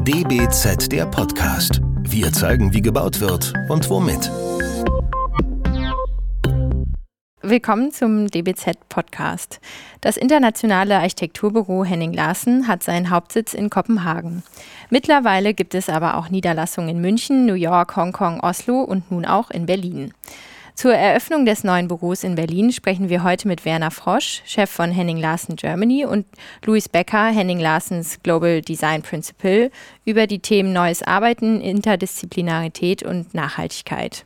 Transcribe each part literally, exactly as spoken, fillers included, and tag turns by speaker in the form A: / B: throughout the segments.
A: D B Z, der Podcast. Wir zeigen, wie gebaut wird und womit.
B: Willkommen zum D B Z-Podcast. Das internationale Architekturbüro Henning Larsen hat seinen Hauptsitz in Kopenhagen. Mittlerweile gibt es aber auch Niederlassungen in München, New York, Hongkong, Oslo und nun auch in Berlin. Zur Eröffnung des neuen Büros in Berlin sprechen wir heute mit Werner Frosch, Chef von Henning Larsen Germany, und Louis Becker, Henning Larsens Global Design Principal, über die Themen Neues Arbeiten, Interdisziplinarität und Nachhaltigkeit.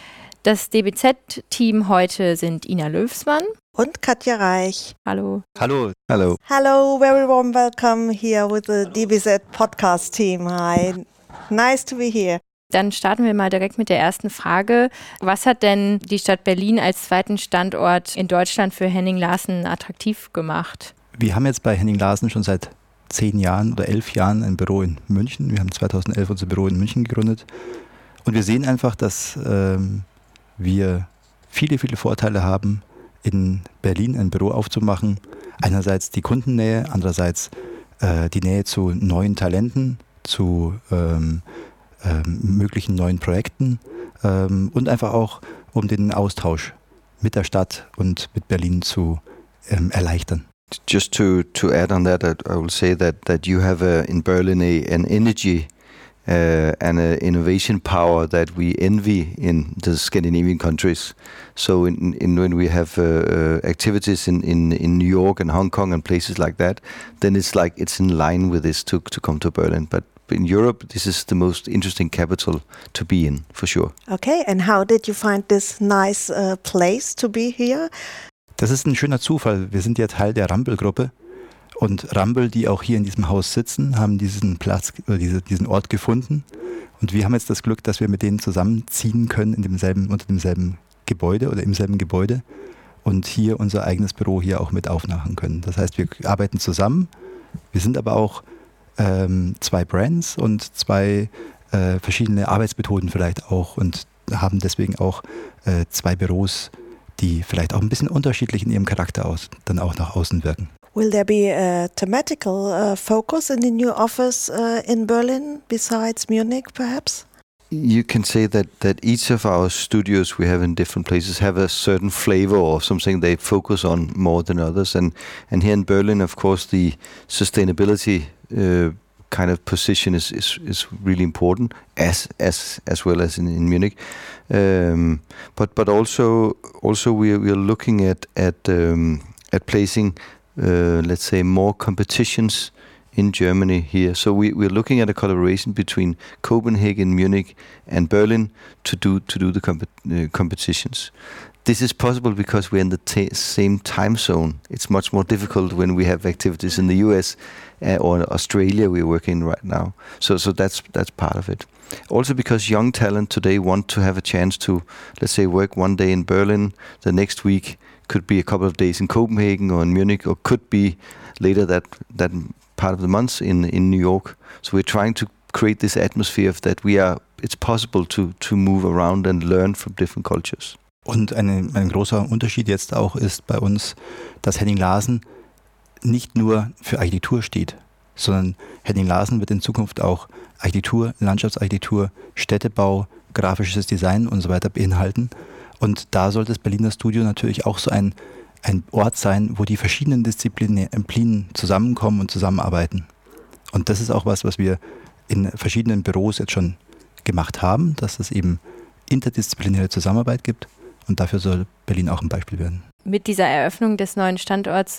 B: Das D B Z-Team heute sind Ina Löfsmann
C: und Katja Reich.
B: Hallo.
D: Hallo. Hallo.
C: Hello, very warm welcome here with the D B Z podcast team. Hi, nice to be here.
B: Dann starten wir mal direkt mit der ersten Frage. Was hat denn die Stadt Berlin als zweiten Standort in Deutschland für Henning Larsen attraktiv gemacht?
D: Wir haben jetzt bei Henning Larsen schon seit zehn Jahren oder elf Jahren ein Büro in München. Wir haben zweitausendelf unser Büro in München gegründet. Und wir sehen einfach, dass ähm, wir viele, viele Vorteile haben, in Berlin ein Büro aufzumachen. Einerseits die Kundennähe, andererseits äh, die Nähe zu neuen Talenten, zu ähm, ähm, möglichen neuen Projekten ähm, und einfach auch, um den Austausch mit der Stadt und mit Berlin zu ähm, erleichtern.
E: Just to, to add on that, I will say that, that you have a, in Berlin a, an energy Uh, and an innovation power that we envy in the Scandinavian countries. So in, in when we have uh, activities in, in, in New York and Hong Kong and places like that, then it's like it's in line with this to, to come to Berlin. But in Europe, this is the most interesting capital to be in, for sure.
C: Okay, and how did you find this nice uh, place to be here?
D: Das ist ein schöner Zufall. Wir sind ja Teil der Ramböll-Gruppe. Und Ramböll, die auch hier in diesem Haus sitzen, haben diesen Platz, oder diese, diesen Ort gefunden. Und wir haben jetzt das Glück, dass wir mit denen zusammenziehen können in demselben, unter demselben Gebäude oder im selben Gebäude und hier unser eigenes Büro hier auch mit aufmachen können. Das heißt, wir arbeiten zusammen. Wir sind aber auch ähm, zwei Brands und zwei äh, verschiedene Arbeitsmethoden vielleicht auch und haben deswegen auch äh, zwei Büros, die vielleicht auch ein bisschen unterschiedlich in ihrem Charakter aus, dann auch nach außen wirken.
C: Will there be a thematical uh, focus in the new office uh, in Berlin besides Munich, perhaps?
E: You can say that, that each of our studios we have in different places have a certain flavor or something they focus on more than others. And, and here in Berlin, of course, the sustainability uh, kind of position is, is, is really important, as as as well as in, in Munich. Um, but but also also we are, we are looking at at um, at placing uh, let's say more competitions in Germany here. So we we're looking at a collaboration between Copenhagen, Munich, and Berlin to do to do the comp- uh, competitions. This is possible because we're in the t- same time zone. It's much more difficult when we have activities in the U S uh, or Australia we're working right now. So so that's that's part of it. Also because young talent today want to have a chance to, let's say, work one day in Berlin, the next week could be a couple of days in Copenhagen or in Munich, or could be later that that part of the month in, in New York. So we're trying to create this atmosphere of that we are. It's possible to to move around and learn from different cultures.
D: Und eine, ein großer Unterschied jetzt auch ist bei uns, dass Henning Larsen nicht nur für Architektur steht, sondern Henning Larsen wird in Zukunft auch Architektur, Landschaftsarchitektur, Städtebau, grafisches Design und so weiter beinhalten. Und da sollte das Berliner Studio natürlich auch so ein, ein Ort sein, wo die verschiedenen Disziplinen zusammenkommen und zusammenarbeiten. Und das ist auch was, was wir in verschiedenen Büros jetzt schon gemacht haben, dass es eben interdisziplinäre Zusammenarbeit gibt. Und dafür soll Berlin auch ein Beispiel werden.
B: Mit dieser Eröffnung des neuen Standorts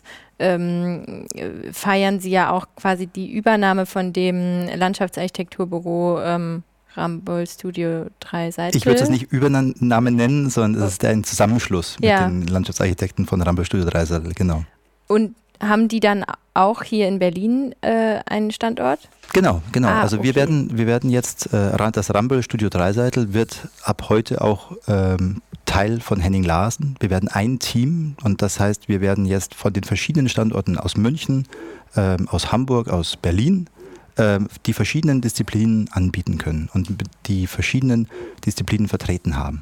B: ähm, feiern Sie ja auch quasi die Übernahme von dem Landschaftsarchitekturbüro ähm, Ramböll Studio drei Seiten.
D: Ich würde es nicht Übernahme nennen, sondern es ist ein Zusammenschluss mit ja. den Landschaftsarchitekten von Ramböll Studio drei Seiten, genau.
B: Und haben die dann auch hier in Berlin äh, einen Standort?
D: Genau, genau.
B: Ah,
D: also
B: okay.
D: wir werden, wir werden jetzt, äh, das Ramböll Studio drei Seiten wird ab heute auch ähm, Teil von Henning Larsen. Wir werden ein Team und das heißt, wir werden jetzt von den verschiedenen Standorten aus München, ähm, aus Hamburg, aus Berlin ähm, die verschiedenen Disziplinen anbieten können und die verschiedenen Disziplinen vertreten haben.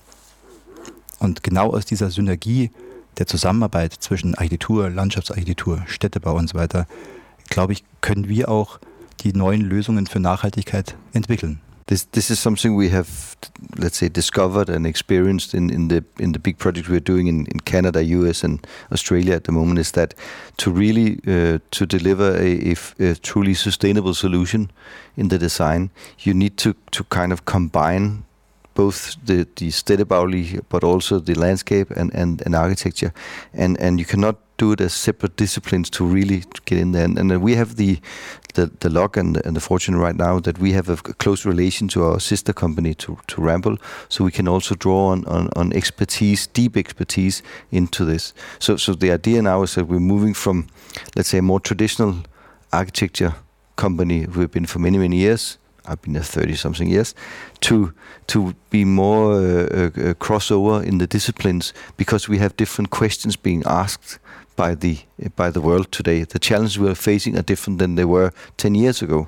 D: Und genau aus dieser Synergie der Zusammenarbeit zwischen Architektur, Landschaftsarchitektur, Städtebau und so weiter, glaube ich, können wir auch die neuen Lösungen für Nachhaltigkeit entwickeln.
E: This this is something we have, let's say, discovered and experienced in, in the in the big projects we're doing in, in Canada, U S, and Australia at the moment. Is that to really uh, to deliver a, a, a truly sustainable solution in the design, you need to to kind of combine both the the Städtebauliche but also the landscape and, and, and architecture, and and you cannot do it as separate disciplines to really get in there. And, and we have the the, the luck and, and the fortune right now that we have a close relation to our sister company, to, to Ramboll, so we can also draw on, on, on expertise, deep expertise into this. So so the idea now is that we're moving from, let's say, a more traditional architecture company we've been for many, many years, I've been there thirty-something years, to to be more uh, uh, crossover in the disciplines, because we have different questions being asked by the by the world today. The challenges we are facing are different than they were ten years ago,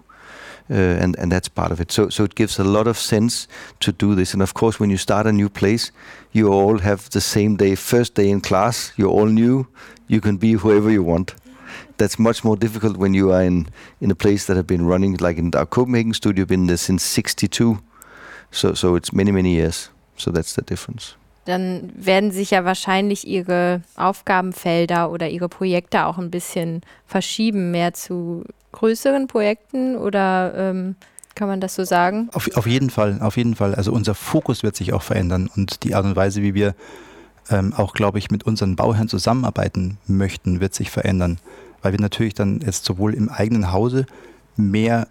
E: uh, and and that's part of it. So so it gives a lot of sense to do this. And of course, when you start a new place, you all have the same day, first day in class. You're all new. You can be whoever you want. That's much more difficult when you are in, in a place that have been running, like in our Copenhagen studio, been there since sixty-two. So so it's many, many years. So that's the difference.
B: Dann werden sich ja wahrscheinlich Ihre Aufgabenfelder oder Ihre Projekte auch ein bisschen verschieben, mehr zu größeren Projekten, oder ähm, kann man das so sagen?
D: Auf, auf jeden Fall, auf jeden Fall. Also unser Fokus wird sich auch verändern und die Art und Weise, wie wir ähm, auch, glaube ich, mit unseren Bauherren zusammenarbeiten möchten, wird sich verändern, weil wir natürlich dann jetzt sowohl im eigenen Hause mehr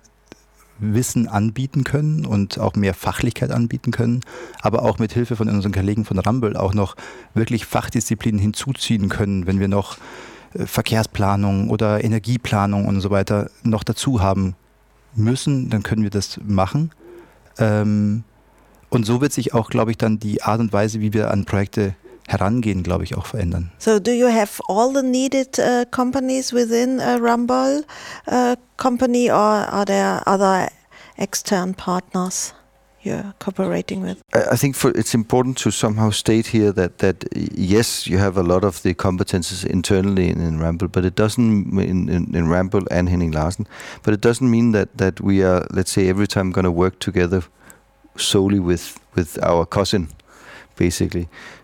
D: Wissen anbieten können und auch mehr Fachlichkeit anbieten können, aber auch mit Hilfe von unseren Kollegen von Ramboll auch noch wirklich Fachdisziplinen hinzuziehen können, wenn wir noch Verkehrsplanung oder Energieplanung und so weiter noch dazu haben müssen, dann können wir das machen. Ähm, und so wird sich auch, glaube ich, dann die Art und Weise, wie wir an Projekte herangehen, glaube ich, auch verändern.
C: So do you have all the needed uh, companies within a Ramboll uh, company, or are there other extern partners you're cooperating with?
E: I think for, it's important to somehow state here that that yes, you have a lot of the competences internally in, in Ramboll, but it doesn't in, in, in Ramboll and Henning Larsen, but it doesn't mean that that we are, let's say, every time going to work together solely with with our cousin, basically.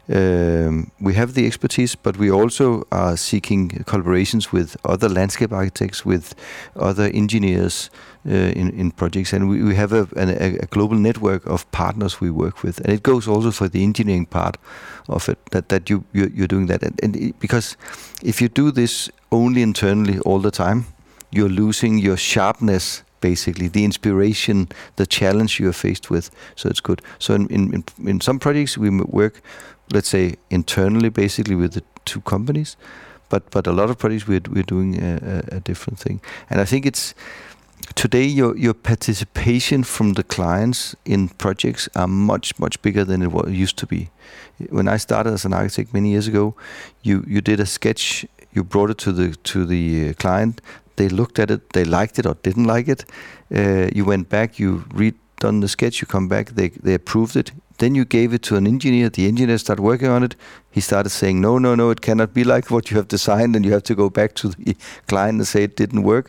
E: Um, we have the expertise, but we also are seeking collaborations with other landscape architects, with other engineers uh, in, in projects, and we, we have a, a, a global network of partners we work with, and it goes also for the engineering part of it, that, that you, you, you're doing that. And, and it, because if you do this only internally all the time, you're losing your sharpness, basically, the inspiration, the challenge you are faced with. So it's good. So in, in, in some projects we work, let's say, internally, basically, with the two companies, but but a lot of projects we're we're doing a, a different thing. And I think it's today your your participation from the clients in projects are much much bigger than it was, used to be. When I started as an architect many years ago, you you did a sketch, you brought it to the to the client. They looked at it, they liked it or didn't like it. Uh, you went back, you redone the sketch, you come back, they they approved it. Then you gave it to an engineer. The engineer started working on it. He started saying, no, no, no, it cannot be like what you have designed. And you have to go back to the client and say it didn't work.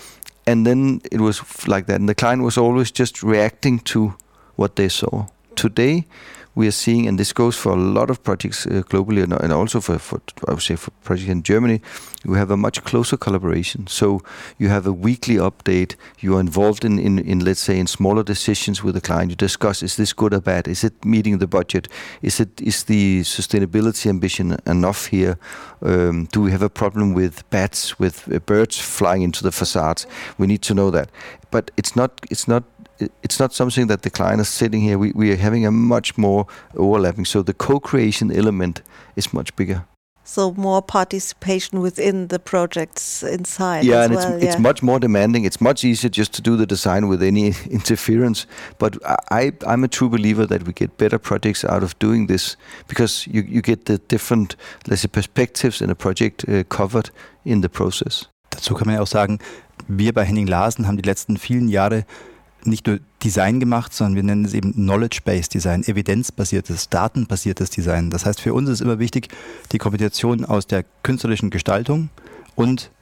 E: And then it was like that. And the client was always just reacting to what they saw. Today, we are seeing, and this goes for a lot of projects uh, globally, and, and also for, for, I would say, for projects in Germany, we have a much closer collaboration. So you have a weekly update. You are involved in, in, in, let's say, in smaller decisions with the client. You discuss, is this good or bad? Is it meeting the budget? Is it is the sustainability ambition enough here? Um, do we have a problem with bats, with uh, birds flying into the facades? We need to know that. But it's not. It's not. It's not something that the client is sitting here. We we are having a much more overlapping. So the co-creation element is much bigger.
C: So more participation within the projects inside.
E: Yeah,
C: as
E: and
C: well,
E: it's
C: yeah.
E: it's much more demanding. It's much easier just to do the design with any interference. But I I'm a true believer that we get better projects out of doing this, because you you get the different, let's say, perspectives in a project uh, covered in the process.
D: Dazu kann man ja auch sagen, wir bei Henning Larsen haben die letzten vielen Jahre nicht nur Design gemacht, sondern wir nennen es eben Knowledge-Based Design, evidenzbasiertes, datenbasiertes Design. Das heißt, für uns ist immer wichtig, die Kombination aus der künstlerischen Gestaltung und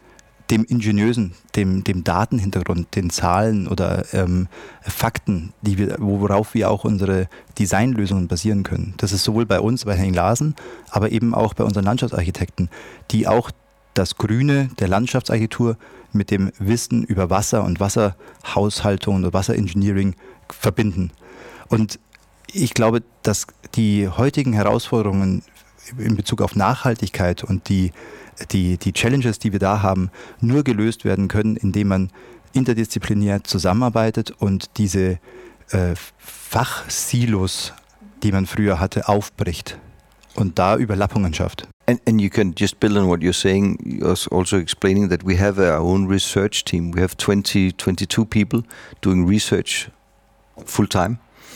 D: dem Ingenieusen, dem, dem Datenhintergrund, den Zahlen oder ähm, Fakten, die wir, worauf wir auch unsere Designlösungen basieren können. Das ist sowohl bei uns, bei Henning Larsen, aber eben auch bei unseren Landschaftsarchitekten, die auch das Grüne der Landschaftsarchitektur mit dem Wissen über Wasser und Wasserhaushaltung und Wasserengineering verbinden. Und ich glaube, dass die heutigen Herausforderungen in Bezug auf Nachhaltigkeit und die, die, die Challenges, die wir da haben, nur gelöst werden können, indem man interdisziplinär zusammenarbeitet und diese äh, Fachsilos, die man früher hatte, aufbricht und da Überlappungen schafft.
E: And, and you can just build on what you're saying, you're also explaining that we have our own research team. We have twenty, twenty-two people doing research full time.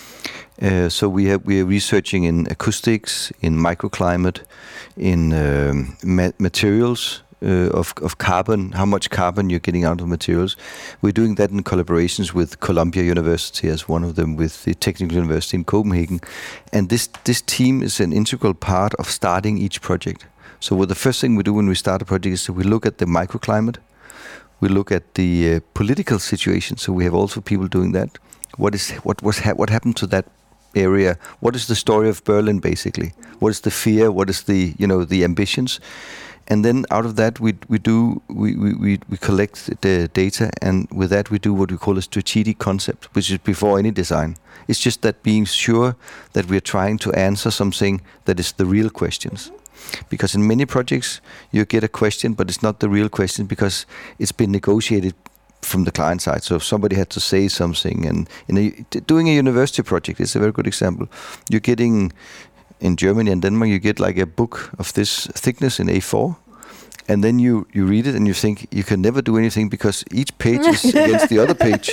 E: Uh, so we have we are researching in acoustics, in microclimate, in um, ma- materials uh, of of carbon, how much carbon you're getting out of materials. We're doing that in collaborations with Columbia University as one of them, with the Technical University in Copenhagen, and this this team is an integral part of starting each project. So what the first thing we do when we start a project is that we look at the microclimate, we look at the uh, political situation. So we have also people doing that. What is what was ha- what happened to that area? What is the story of Berlin, basically? What is the fear? What is the you know the ambitions? And then out of that we we do we, we, we collect the data, and with that we do what we call a strategic concept, which is before any design. It's just that being sure that we are trying to answer something that is the real questions. Because in many projects you get a question, but it's not the real question because it's been negotiated from the client side. So if somebody had to say something, and in a, doing a university project is a very good example. You're getting, in Germany and Denmark, you get like a book of this thickness in A four, and then you, you read it and you think you can never do anything because each page is against the other page.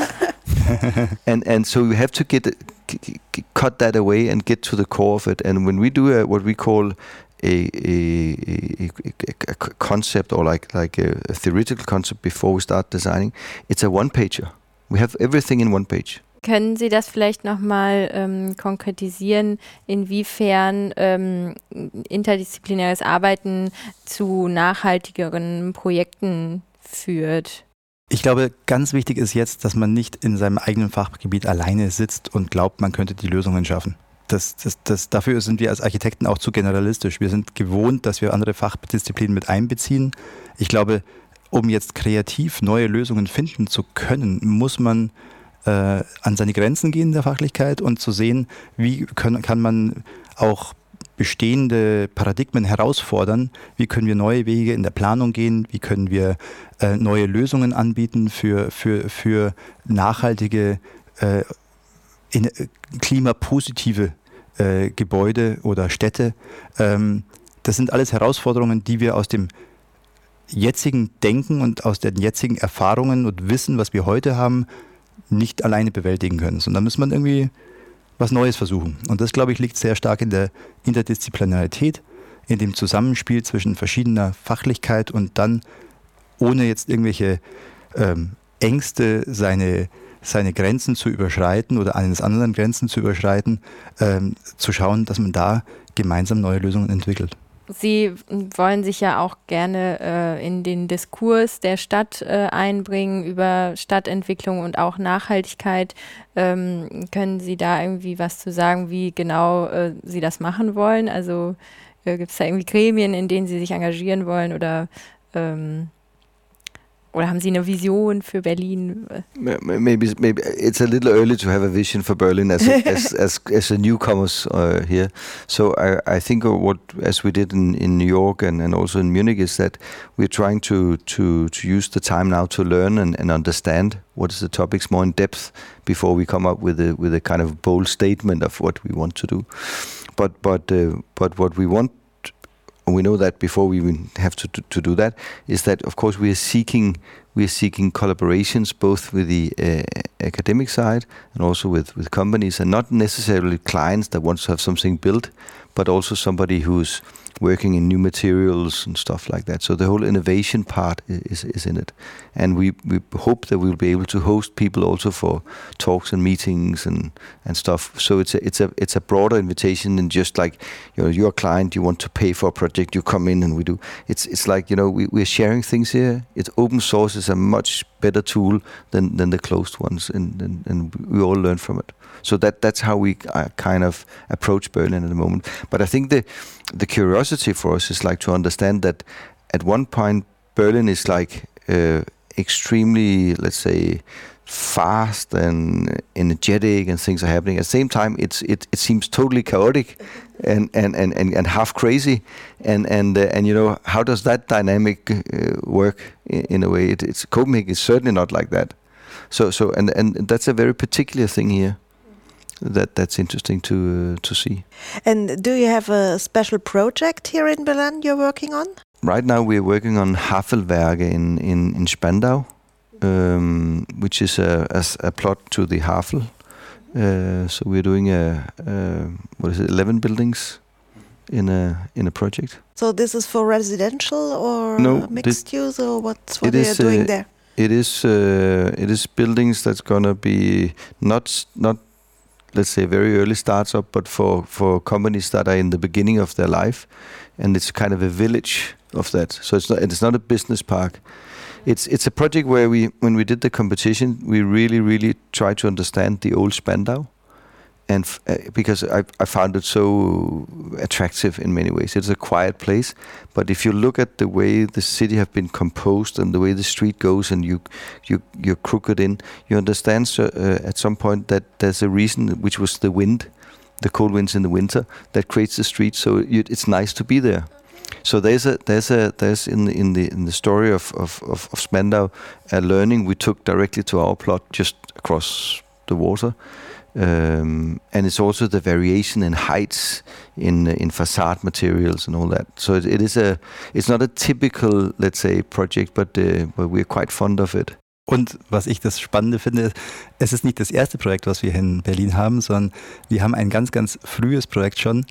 E: and and so you have to get cut that away and get to the core of it. And when we do a, what we call A, a, a, a concept, or like like a, a theoretical concept before we start designing, it's a one-pager. We have everything in one page.
B: Können Sie das vielleicht nochmal ähm, konkretisieren, inwiefern ähm, interdisziplinäres Arbeiten zu nachhaltigeren Projekten führt?
D: Ich glaube, ganz wichtig ist jetzt, dass man nicht in seinem eigenen Fachgebiet alleine sitzt und glaubt, man könnte die Lösungen schaffen. Das, das, das, dafür sind wir als Architekten auch zu generalistisch. Wir sind gewohnt, dass wir andere Fachdisziplinen mit einbeziehen. Ich glaube, um jetzt kreativ neue Lösungen finden zu können, muss man äh, an seine Grenzen gehen der Fachlichkeit und zu sehen, wie können, kann man auch bestehende Paradigmen herausfordern, wie können wir neue Wege in der Planung gehen, wie können wir äh, neue Lösungen anbieten für, für, für nachhaltige äh, in klimapositive äh, Gebäude oder Städte. Ähm, das sind alles Herausforderungen, die wir aus dem jetzigen Denken und aus den jetzigen Erfahrungen und Wissen, was wir heute haben, nicht alleine bewältigen können. Sondern da muss man irgendwie was Neues versuchen. Und das, glaube ich, liegt sehr stark in der Interdisziplinarität, in dem Zusammenspiel zwischen verschiedener Fachlichkeit und dann, ohne jetzt irgendwelche ähm, Ängste, seine seine Grenzen zu überschreiten oder eines anderen Grenzen zu überschreiten, ähm, zu schauen, dass man da gemeinsam neue Lösungen entwickelt.
B: Sie wollen sich ja auch gerne äh, in den Diskurs der Stadt äh, einbringen über Stadtentwicklung und auch Nachhaltigkeit. Ähm, können Sie da irgendwie was zu sagen, wie genau äh, Sie das machen wollen? Also äh, gibt es da irgendwie Gremien, in denen Sie sich engagieren wollen, oder ähm, Oder haben Sie eine Vision für Berlin?
E: Maybe, maybe it's a little early to have a vision for Berlin as a, as, as as a newcomers uh, here. So I, I think what, as we did in, in New York and, and also in Munich, is that we're trying to, to, to use the time now to learn and, and understand what is the topics more in depth before we come up with a with a kind of bold statement of what we want to do. But but uh, but what we want, and we know that before we even have to, to to do that, is that of course we are seeking we are seeking collaborations both with the uh, academic side and also with, with companies, and not necessarily clients that want to have something built, but also somebody who's working in new materials and stuff like that. So the whole innovation part is is in it, and we, we hope that we'll be able to host people also for talks and meetings and, and stuff. So it's a it's a it's a broader invitation than just like, you know, you're a client, you want to pay for a project, you come in and we do. It's it's like, you know, we we're sharing things here. It's open source is a much better tool than than the closed ones, and and, and we all learn from it. So that that's how we uh, kind of approach Berlin at the moment. But I think the the curiosity for us is like to understand that at one point Berlin is like uh, extremely, let's say, fast and energetic, and things are happening. At the same time, it's it, it seems totally chaotic and and, and, and, and half crazy. And and uh, and you know, how does that dynamic uh, work in, in a way? It, it's Copenhagen is certainly not like that. So so and and that's a very particular thing here. That that's interesting to uh, to see.
C: And do you have a special project here in Berlin you're working on?
E: Right now we're working on Havelwerke in in, in Spandau, um, which is a, a a plot to the Havel. Uh, so we're doing a, a what is it, eleven buildings in a in a project.
C: So this is for residential or
E: no,
C: mixed use, or what's what
E: you
C: are doing
E: uh,
C: there?
E: It is uh, it is buildings that's gonna be not not. let's say very early starts up, but for, for companies that are in the beginning of their life, and it's kind of a village of that. So it's not it's not a business park. It's it's a project where we, when we did the competition, we really really tried to understand the old Spandau, and f- uh, because I I found it so attractive in many ways. It's a quiet place, but if you look at the way the city have been composed and the way the street goes, and you you you're crooked in, you understand so, uh, at some point that there's a reason, which was the wind, the cold winds in the winter, that creates the street. So you, it's nice to be there. So there's a there's a there's in the in the in the story of of of, of Spandau a learning we took directly to our plot just across the water. Um, and it's also the variation in heights in in facade materials and all that. So it, it is a it's not a typical, let's say, project, but uh, but we're quite fond of it.
D: Und was ich das Spannende finde, es ist nicht das erste Projekt, was wir hier in Berlin haben, sondern wir haben ein ganz, ganz frühes Projekt schon.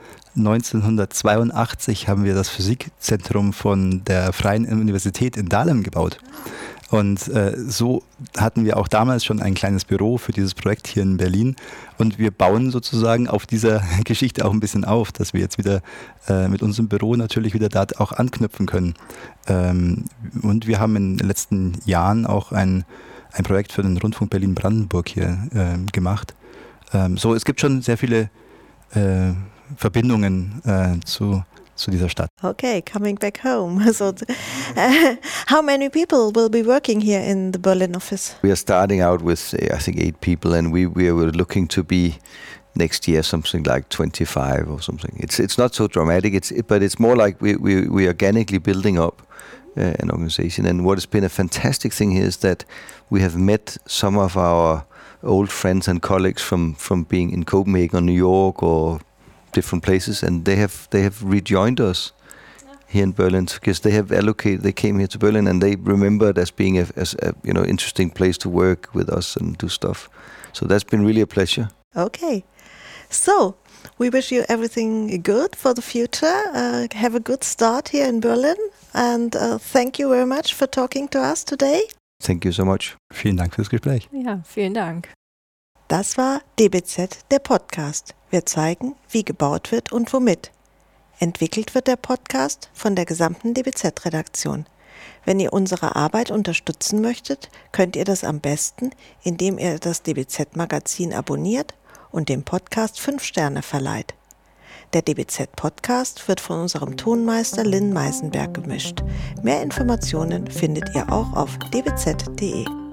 D: neunzehnhundertzweiundachtzig haben wir das Physikzentrum von der Freien Universität in Dahlem gebaut. Und äh, so hatten wir auch damals schon ein kleines Büro für dieses Projekt hier in Berlin. Und wir bauen sozusagen auf dieser Geschichte auch ein bisschen auf, dass wir jetzt wieder äh, mit unserem Büro natürlich wieder da auch anknüpfen können. Ähm, und wir haben in den letzten Jahren auch ein, ein Projekt für den Rundfunk Berlin-Brandenburg hier äh, gemacht. Ähm, so, es gibt schon sehr viele äh, Verbindungen äh, zu zu dieser Stadt.
C: Okay, coming back home. So, uh, how many people will be working here in the Berlin office?
E: We are starting out with, I think, eight people, and we we were looking to be next year something like twenty-five or something. It's it's not so dramatic. It's it, but it's more like we we we organically building up uh, an organization. And what has been a fantastic thing here is that we have met some of our old friends and colleagues from from being in Copenhagen or New York or different places, and they have they have rejoined us here in Berlin because they have allocated. They came here to Berlin and they remember it as being a, as a you know interesting place to work with us and do stuff. So that's been really a pleasure.
C: Okay, so we wish you everything good for the future. Uh, have a good start here in Berlin, and uh, thank you very much for talking to us today.
E: Thank you so much.
D: Vielen Dank fürs Gespräch.
B: Ja, vielen Dank.
C: Das war D B Z, der Podcast. Wir zeigen, wie gebaut wird und womit. Entwickelt wird der Podcast von der gesamten D B Z-Redaktion. Wenn ihr unsere Arbeit unterstützen möchtet, könnt ihr das am besten, indem ihr das D B Z-Magazin abonniert und dem Podcast fünf Sterne verleiht. Der D B Z-Podcast wird von unserem Tonmeister Lynn Meisenberg gemischt. Mehr Informationen findet ihr auch auf d b z punkt d e.